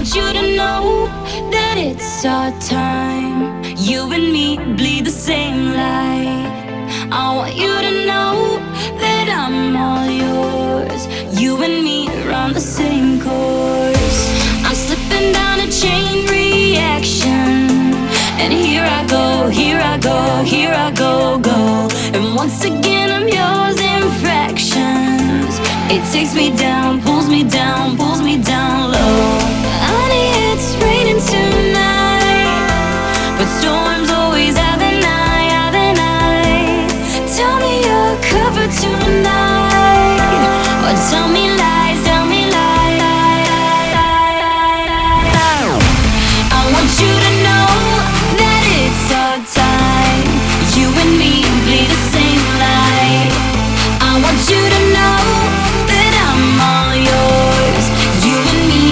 want you to know that it's our time. You and me bleed the same light. I want you to know that I'm all yours. You and me run the same course. I'm slipping down a chain reaction, and here I go, here I go, here I go, go. And once again I'm yours in fractions. It takes me down, pulls me down, pulls me down low. Honey, it's raining tonight, but storms always have an eye, have an eye. Tell me you're covered tonight, or tell me lies, tell me lies. I want you to know that it's our time. You and me bleed the same light. I want you to know that I'm all yours. You and me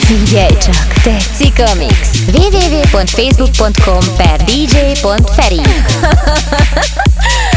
Figyelj csak, tetszik a mix? www.facebook.com/dj.feri